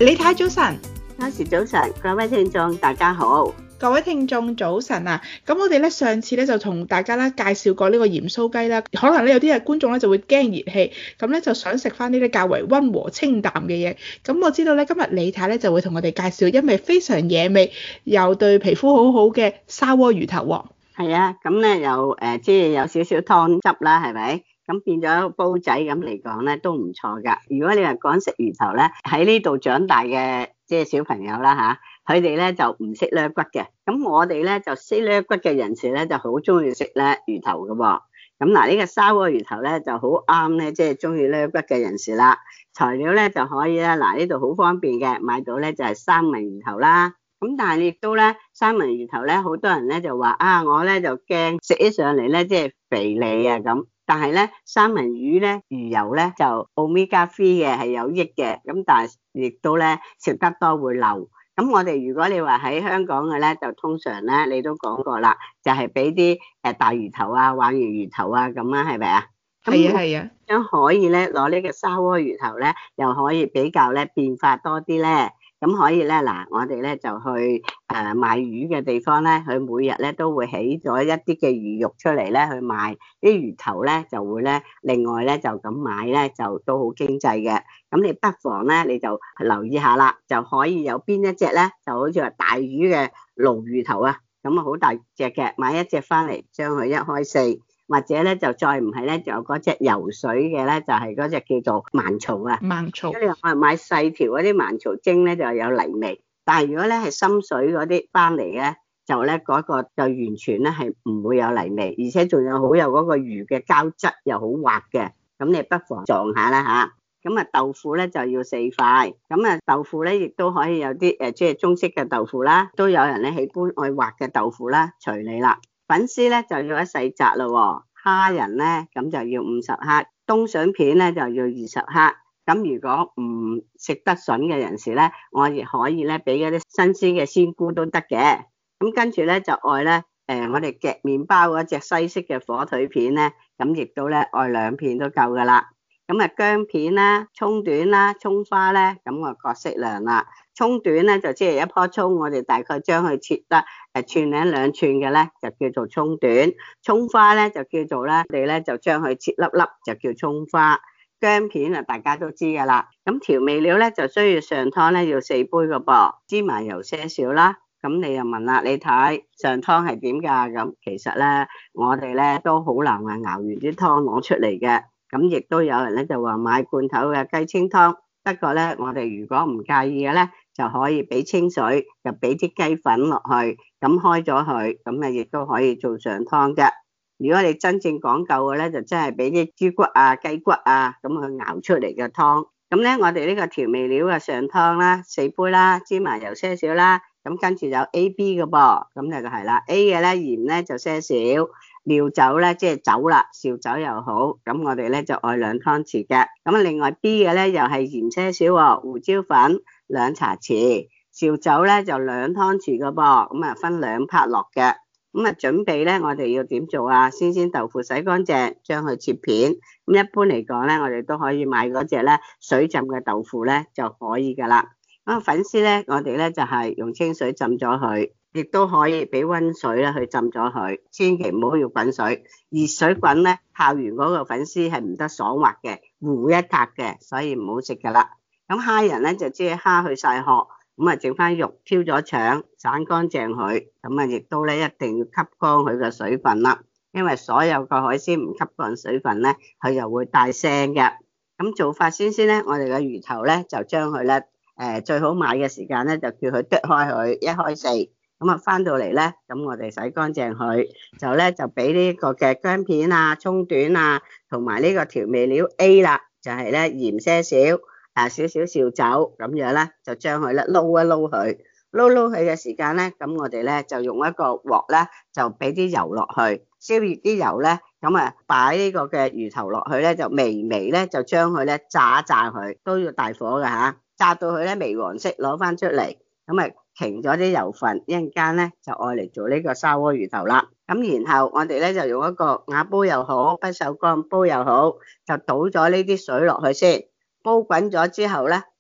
李太早晨， 多謝早晨，各位聽眾大家好。 各位聽眾早晨啊！咁我哋咧上次咧就同大家咧介紹過呢個鹽酥雞啦，可能咧有啲嘅觀眾咧就會驚熱氣，咁咧就想食翻呢啲較為溫和清淡嘅嘢。咁我知道咧今日李太咧就會同我哋介紹因為非常惹味又對皮膚好好嘅砂鍋魚頭喎。 係啊，咁咧又即係有少少湯汁啦，係咪？咁變咗煲仔咁嚟講咧都唔錯噶。如果你話講食魚頭咧，喺呢度長大嘅即係小朋友啦吓，佢哋咧就唔識甩骨嘅。咁我哋咧就識甩骨嘅人士咧就好中意食咧魚頭噶喎。咁嗱呢個砂鍋魚頭咧就好啱咧，即係中意甩骨嘅人士啦。材料咧就可以咧，嗱呢度好方便嘅，買到咧就係三文魚頭啦。咁但係亦都咧，三文魚頭咧，好多人咧就話啊，我咧就驚食起上嚟咧即係肥膩啊咁。但係咧，三文魚咧魚油咧就 omega 3嘅係有益嘅，咁但係亦都咧食得多會漏。咁我哋如果你話喺香港嘅咧，就通常咧你都講過啦，就係俾啲大魚頭啊、鯇魚頭啊咁啊，係咪啊？ 係啊係啊。 咁可以咧攞呢個砂鍋魚頭咧，又可以比較咧變化多啲咧。咁可以咧，嗱，我哋咧就去賣魚嘅地方咧，佢每日咧都會起咗一啲嘅魚肉出嚟咧去賣，啲魚頭咧就會咧另外咧就咁買咧就都好經濟嘅。咁你不妨咧你就留意下啦，就可以有邊一隻咧就好似話大魚嘅鱸魚頭啊，咁啊好大隻嘅，買一隻翻嚟將佢一開四。或者咧就再唔係咧，就有嗰隻游水嘅咧，就係嗰隻叫做盲草啊。 盲草。 如果你話我係買細條嗰啲盲草蒸咧，就有泥味。但係如果咧係深水嗰啲翻嚟咧，就咧嗰個就完全咧係唔會有泥味，而且仲有好有嗰個魚嘅膠質，又好滑嘅。咁你不妨撞下啦吓。咁啊豆腐咧就要4塊。咁啊豆腐咧亦都可以有啲即係中式嘅豆腐啦，都有人咧喜歡愛滑嘅豆腐啦，隨你啦。粉絲咧就要一細紮咯，蝦仁咧咁就要50克，冬筍片咧就要20克。咁如果唔食得筍嘅人士咧，我亦可以咧俾嗰啲新鮮嘅鮮菇都得嘅。咁跟住咧就愛咧我哋夾麵包嗰隻西式嘅火腿片咧，咁亦都咧愛2片都夠噶啦。咁啊薑片啦、蔥短啦、蔥花咧，咁我各適量啦。蔥短咧就即係一棵蔥，我哋大概將佢切得寸零2寸嘅咧，就叫做蔥短。蔥花咧就叫做咧，我哋咧就將佢切粒粒，就叫蔥花。薑片啊，大家都知噶啦。咁調味料咧就需要上湯咧要4杯個噃，芝麻油些少啦。咁你又問啦，你睇上湯係點噶？咁其實咧，我哋咧都好難話熬完啲湯攞出嚟嘅。咁亦都有人咧就話買罐頭嘅雞清湯，不過咧我哋如果唔介意嘅咧，就可以俾清水，就俾啲雞粉落去，咁開咗佢，咁啊亦都可以做上湯嘅。如果你真正講究嘅咧，就真係俾啲豬骨啊、雞骨啊，咁去熬出嚟嘅湯。咁咧我哋呢個調味料嘅上湯啦，4杯啦，芝麻油些少啦，咁跟住有 A、B 嘅噃，咁就係啦。A 嘅咧鹽咧就些少。料酒咧即係酒啦，紹酒又好，咁我哋咧就愛2湯匙嘅。咁啊另外 B 嘅咧又係鹽些少，胡椒粉2茶匙，紹酒咧就2湯匙嘅噃，咁啊分2 part 落嘅。咁啊準備咧我哋要點做啊？鮮鮮豆腐洗乾淨，將佢切片。咁一般嚟講咧，我哋都可以買嗰隻咧水浸嘅豆腐咧就可以噶啦。咁粉絲咧我哋咧就係用清水浸咗佢。亦都可以俾溫水咧去浸咗佢，千祈唔好要滾水，熱水滾咧泡完嗰個粉絲係唔得爽滑嘅，糊一塌嘅，所以唔好食噶啦。咁蝦仁咧就即係蝦去晒殼，咁啊整翻肉，挑咗腸，散乾淨佢，咁啊亦都咧一定要吸乾佢嘅水分啦，因為所有個海鮮唔吸乾水分咧，佢就會帶腥嘅。咁做法先咧，我哋嘅魚頭咧就將佢咧最好買嘅時間咧就叫佢剁開佢，一開四。咁啊翻到嚟咧，咁我哋洗乾淨佢，就咧就俾呢個嘅薑片啊、蔥短啊，同埋呢個調味料 A 啦，就係咧鹽些少，少少紹酒咁樣咧，就將佢咧撈一撈佢，撈佢嘅時間咧，咁我哋咧就用一個鑊咧，就俾啲油落去，燒熱啲油咧，咁啊擺呢個嘅魚頭落去咧，就微微咧就將佢咧炸一炸佢，都要大火㗎吓，炸到佢咧微黃色，攞翻出嚟，咁啊停咗啲油分，一陣間咧就愛嚟做呢個砂鍋魚頭啦。咁然後我哋咧就用一個瓦煲又好，不鏽鋼煲又好，就倒咗呢啲水落去先，煲滾咗之後咧，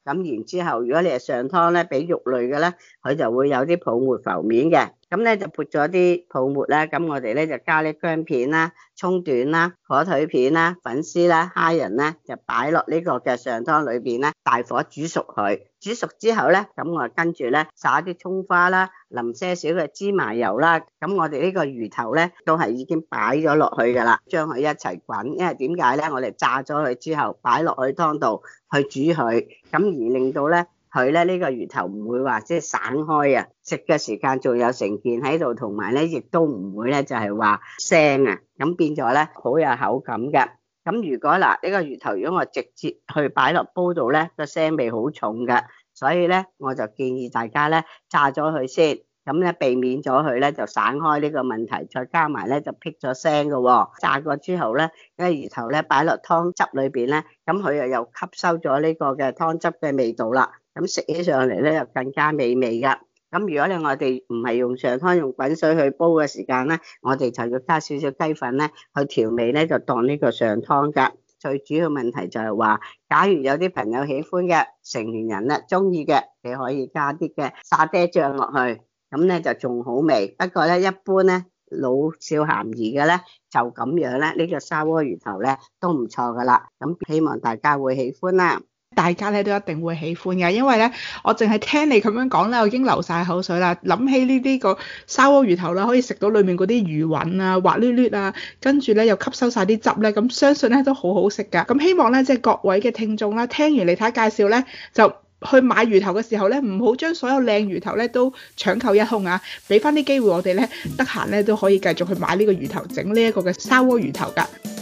咁然之後，如果你係上湯咧，俾肉類嘅咧，佢就會有啲泡沫浮面嘅。咁咧就撥咗啲泡沫咧，咁我哋咧就加啲薑片啦、葱段啦、火腿片啦、粉絲啦、蝦仁咧，就擺落呢個嘅上湯裏邊咧，大火煮熟佢。煮熟之後咧，咁我跟住咧撒啲葱花啦，淋些少嘅芝麻油啦。咁我哋呢個魚頭咧都係已經擺咗落去噶啦，將佢一齊滾。因為點解咧？我哋炸咗佢之後擺落去湯度去煮佢，咁而令到咧佢咧呢個魚頭唔會話即係散開啊，食嘅時間仲有成件喺度，同埋咧亦都唔會咧就係話腥啊，咁變咗咧好有口感嘅。咁如果嗱呢個魚頭如果我直接去擺落煲度咧，個腥味好重嘅，所以咧我就建議大家咧炸咗佢先，咁咧避免咗佢咧就散開呢個問題，再加埋咧就辟咗腥嘅喎。炸過之後咧，呢個魚頭咧擺落湯汁裏邊咧，咁佢又吸收咗呢個嘅湯汁嘅味道啦，咁食起上嚟咧又更加美味噶。咁如果我哋唔係用上湯用滾水去煲嘅時間咧，我哋就要加少少雞粉咧去調味咧，就當呢個上湯噶。最主要問題就係話，假如有啲朋友喜歡嘅成年人咧中意嘅，你可以加啲嘅沙爹醬落去，咁咧就仲好味。不過咧一般咧老少咸宜嘅咧就咁樣咧，呢個砂鍋魚頭咧都唔錯噶啦。咁希望大家會喜歡啦。 大家咧都一定會喜歡嘅，因為咧我淨係聽你咁樣講咧，我已經流晒口水啦。諗起呢個砂鍋魚頭啦，可以食到裡面嗰啲魚韻啊、滑捋捋啊，跟住咧又吸收晒啲汁咧，咁相信咧都好好食㗎。咁希望咧即係各位嘅聽眾啦，聽完李太介紹咧就去買魚頭嘅時候咧，唔好將所有靚魚頭咧都搶購一空啊！俾翻啲機會我哋咧，得閒咧都可以繼續去買呢個魚頭，整呢一個嘅砂鍋魚頭㗎。